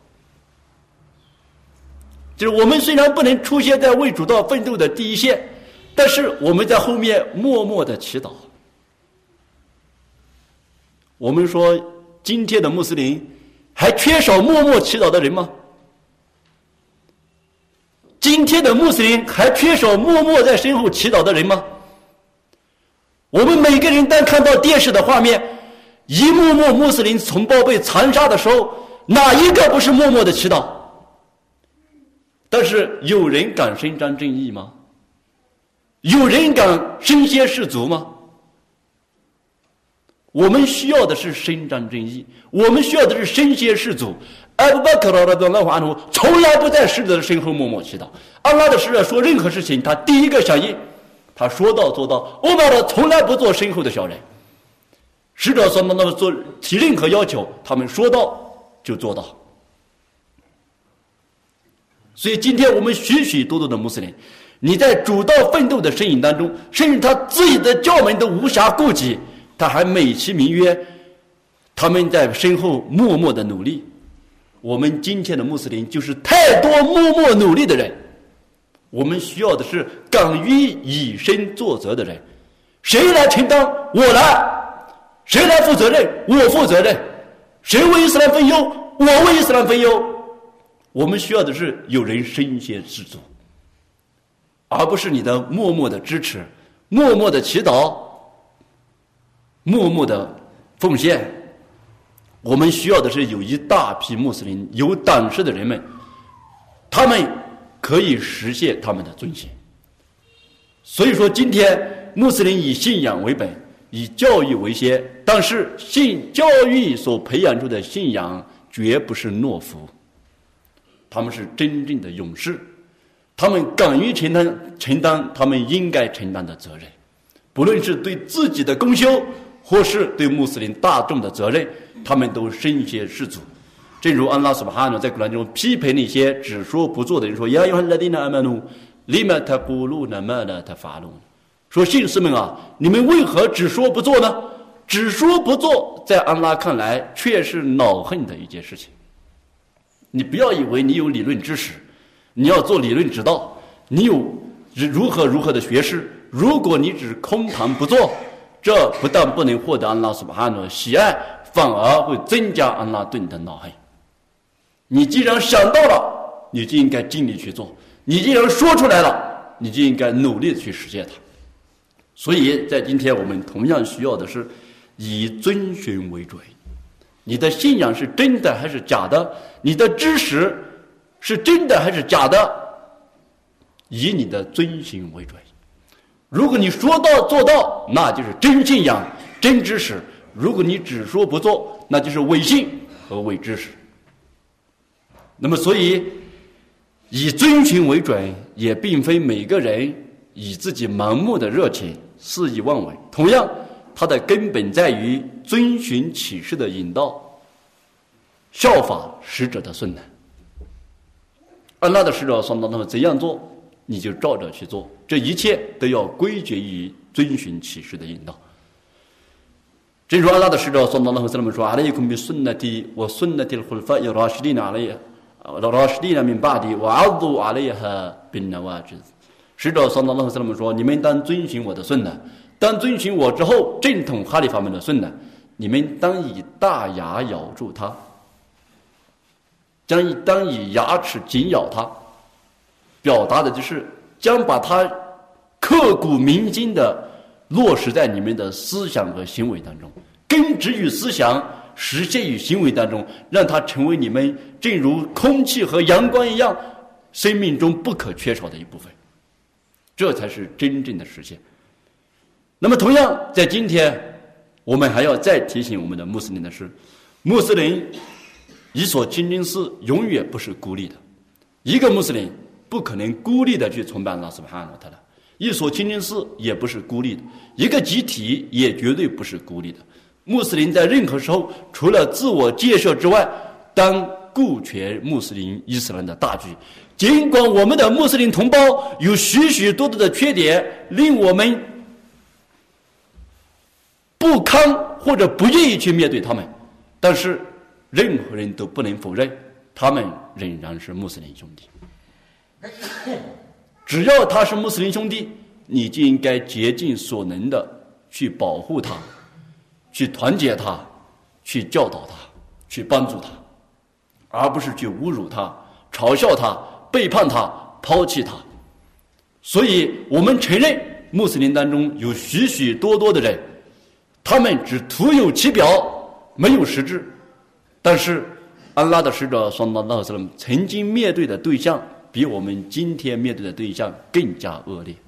就是我们虽然不能出现在为主道奋斗的第一线，但是我们在后面默默的祈祷。我们说今天的穆斯林还缺少默默祈祷的人吗？今天的穆斯林还缺少默默在身后祈祷的人吗？我们每个人当看到电视的画面，一幕幕穆斯林同胞被残杀的时候，哪一个不是默默的祈祷？但是有人敢伸张正义吗？有人敢身先士卒吗？我们需要的是伸张正义，我们需要的是身先士卒。阿布bakr radhiyallahu anhu从来不在使者的身后默默祈祷。安拉的使者说任何事情，他第一个响应，他说到做到。欧麦尔从来不做身后的小人。使者说那么做提任何要求，他们说到就做到。所以今天我们许许多多的穆斯林，你在主道奋斗的身影当中，甚至他自己的教门都无暇顾及，他还美其名曰他们在身后默默的努力。我们今天的穆斯林就是太多默默努力的人，我们需要的是敢于以身作则的人。谁来承担？我来。谁来负责任？我负责任。谁为伊斯兰分忧？我为伊斯兰分忧。我们需要的是有人身先士卒，而不是你的默默的支持，默默的祈祷，默默的奉献。我们需要的是有一大批穆斯林有胆识的人们，他们可以实现他们的尊严。所以说今天穆斯林以信仰为本，以教育为先，但是信教育所培养出的信仰绝不是懦夫，他们是真正的勇士，他们敢于承担承担他们应该承担的责任，不论是对自己的功修或是对穆斯林大众的责任，他们都身先士卒。正如安拉苏巴哈努在古兰中批评那些只说不做的人说：“呀，有很多的阿曼努，利玛塔古鲁那么的他发怒。”说信士们啊，你们为何只说不做呢？只说不做，在安拉看来却是恼恨的一件事情。你不要以为你有理论知识，你要做理论指导，你有如何如何的学识，如果你只空谈不做，这不但不能获得安拉苏巴哈努的喜爱，反而会增加安拉对你的恼恨。你既然想到了，你就应该尽力去做；你既然说出来了，你就应该努力的去实现它。所以在今天我们同样需要的是以遵循为准。你的信仰是真的还是假的？你的知识是真的还是假的？以你的遵循为准。如果你说到做到，那就是真信仰、真知识；如果你只说不做，那就是伪信和伪知识。那么所以以遵循为准，也并非每个人以自己盲目的热情肆意妄为，同样它的根本在于遵循启示的引导，效法使者的顺难。安拉的使者说他们怎样做，你就照着去做，这一切都要归结于遵循启示的引导。正如安拉的使者说：“阿勒伊孔比顺纳提，我顺纳提的khulfa'i rashidin alayhi rashidina min ba'di wa 'addu 'alayha bin nawajiz。使者sallallahu alaihi wasallam说：“你们当遵循我的顺呢，当遵循我之后正统哈里法们的顺呢，你们当以大牙咬住它，将以当以牙齿紧咬它。”表达的就是将把它刻骨铭心的落实在你们的思想和行为当中，根植于思想，实现于行为当中，让它成为你们正如空气和阳光一样生命中不可缺少的一部分，这才是真正的实现。那么同样在今天我们还要再提醒我们的穆斯林的是，穆斯林一所清真寺永远不是孤立的，一个穆斯林不可能孤立的去崇拜Allah Subhanahu wa Taala，一所清真寺也不是孤立的，一个集体也绝对不是孤立的。穆斯林在任何时候，除了自我建设之外，当顾全穆斯林伊斯兰的大局。尽管我们的穆斯林同胞有许许多多的缺点，令我们不堪或者不愿意去面对他们，但是任何人都不能否认，他们仍然是穆斯林兄弟。只要他是穆斯林兄弟，你就应该竭尽所能的去保护他，去团结他，去教导他，去帮助他，而不是去侮辱他、嘲笑他、背叛他、抛弃他。所以我们承认穆斯林当中有许许多多的人，他们只徒有其表，没有实质。但是安拉的使者sallallahu alaihi wasallam曾经面对的对象比我们今天面对的对象更加恶劣，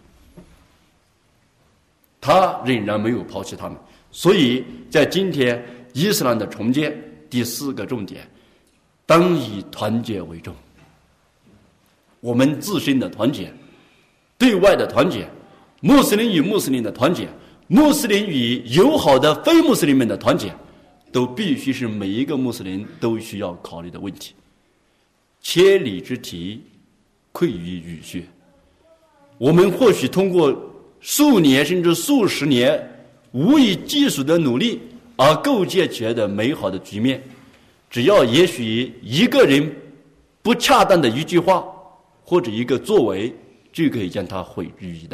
他仍然没有抛弃他们。所以在今天伊斯兰的重建第四个重点，当以团结为重。我们自身的团结，对外的团结，穆斯林与穆斯林的团结，穆斯林与友好的非穆斯林们的团结，都必须是每一个穆斯林都需要考虑的问题。千里之堤溃于蚁穴。我们或许通过数年甚至数十年无以计数的努力而构建起来的美好的局面，只要也许一个人不恰当的一句话或者一个作为，就可以将它毁于一旦，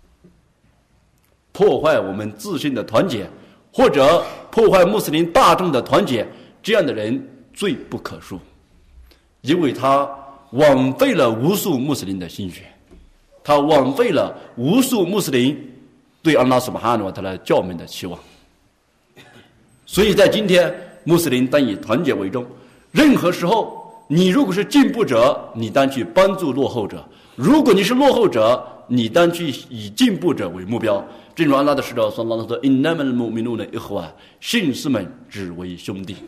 破坏我们自身的团结，或者破坏穆斯林大众的团结，这样的人罪不可恕，因为他枉费了无数穆斯林的心血，他枉费了无数穆斯林对安拉苏巴哈诺他的教门的期望。所以在今天，穆斯林当以团结为重。任何时候，你如果是进步者，你当去帮助落后者；如果你是落后者，你当去以进步者为目标。正如安拉的使者说：“因那么穆米努的一伙啊，信士们只为兄弟。”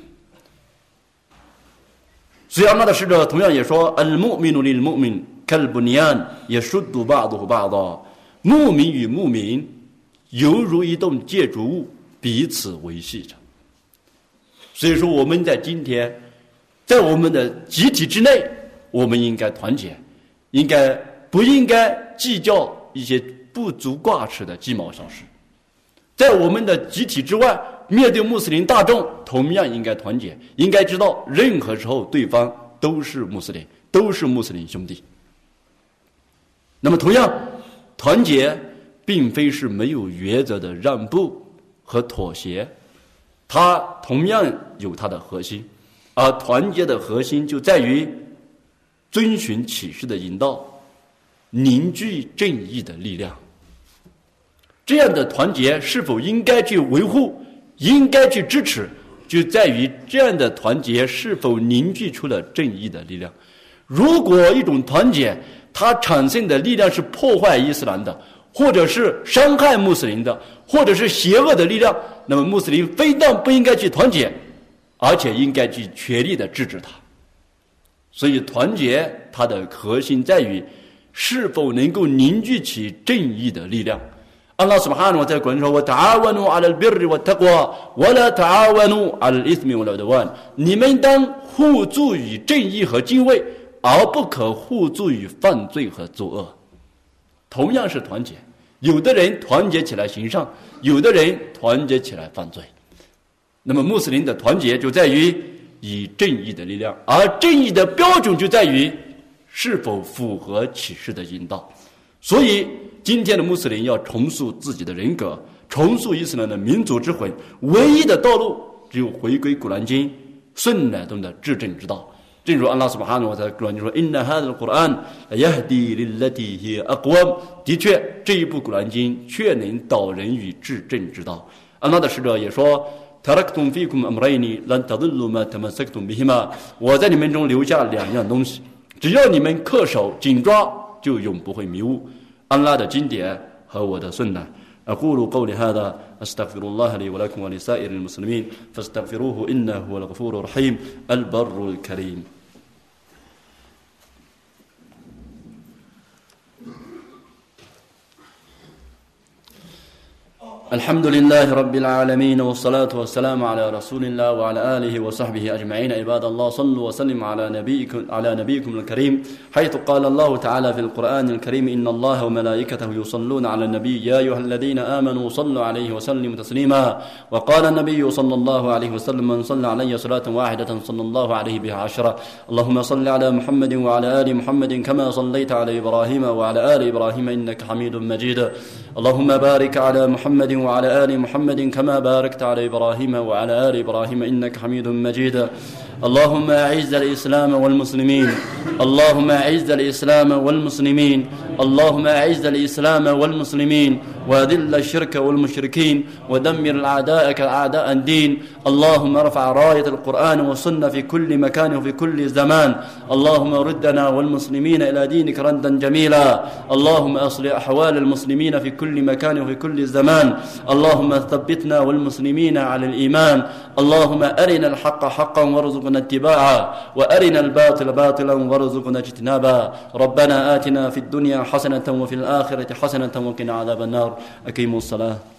所以安拉的使者同样也说：“al mu'minu lil mu'min kal bunyan yashuddu ba'duhu ba'da。”牧民与牧民犹如一栋建筑物，彼此维系着。所以说，我们在今天，在我们的集体之内，我们应该团结，应该不应该计较一些不足挂齿的鸡毛小事。在我们的集体之外，面对穆斯林大众，同样应该团结，应该知道任何时候对方都是穆斯林，都是穆斯林兄弟。那么同样，团结并非是没有原则的让步和妥协，它同样有它的核心。而团结的核心就在于遵循启示的引导，凝聚正义的力量。这样的团结是否应该去维护，应该去支持，就在于这样的团结是否凝聚出了正义的力量。如果一种团结它产生的力量是破坏伊斯兰的，或者是伤害穆斯林的，或者是邪恶的力量，那么穆斯林非但不应该去团结，而且应该去全力的制止它。所以团结它的核心在于是否能够凝聚起正义的力量。安拉 سبحانه 在古说 وَتَعَاوَنُوا عَلَى الْبِرِّ وَالتَّقْوَى وَلَا تَعَاوَنُوا عَلَى الْإِثْمِ وَالْعُدْوَانِ 你们当互助于正义和敬畏，而不可互助于犯罪和作恶。同样是团结，有的人团结起来行善，有的人团结起来犯罪。那么穆斯林的团结就在于以正义的力量，而正义的标准就在于是否符合启示的引导。所以今天的穆斯林要重塑自己的人格，重塑伊斯兰的民族之魂，唯一的道路只有回归古兰经、顺乃中的至正之道。正如安拉 سبحانه 和 تعالى 古兰经说 إن هذا القرآن يهدي للتي هي أقوم， 的确这一部古兰经确能导人于至正之道。安拉的使者也说تركتم فيكم أمرين لن تضلوا ما تمسكتم بهما， 我在你们中留下两样东西，只要你们恪守紧抓，就永不会迷雾。安拉的经典和我的顺乃。أقول قولي هذا أستغفر الله لي ولكم ولسائر المسلمين فاستغفروه إنه هو الغفور الرحيم البر الكريم. الحمد لله رب العالمين والصلاة والسلام على رسول الله وعلى آله وصحبه أجمعين. عباد الله صلوا وسلموا على نبيكم على نبيكم الكريم، حيث قال الله تعالى في القرآن الكريم إن الله وملائكته يصلون على النبي يا أيها الذين آمنوا صلوا عليه وسلموا تسليما. وقال النبي صلى الله عليه وسلم من صلى علي صلاة واحدة صلى الله عليه بها عشرة. اللهم صل على محمد وعلى آل محمد كما صليت على إبراهيم وعلى آل إبراهيم إنك حميد مجيد. اللهم بارك على محمد وعلى آل محمد كما باركت على إبراهيم وعلى آل إبراهيم إنك حميد مجيد. اللهم أعز الإسلام والمسلمين اللهم أعز الإسلام والمسلمين اللهم أعز الإسلام والمسلمين وذل الشرك والمشركين ودمر أعداءك أعداء الدين. اللهم ارفع راية القرآن والسنة في كل مكان وفي كل زمان. اللهم ردنا والمسلمين إلى دينك ردا جميلا. اللهم أصلح أحوال المسلمين في كل مكان وفي كل زمان. اللهم ثبتنا والمسلمين على الإيمان. اللهم أرنا الحق حقا وارزقنا اتباعه وأرنا الباطل باطلا وارزقنا اجتنابا. ربنا آتنا في الدنيا حسنة وفي الآخرة حسنة وقنا عذاب النار. أقيموا الصلاة.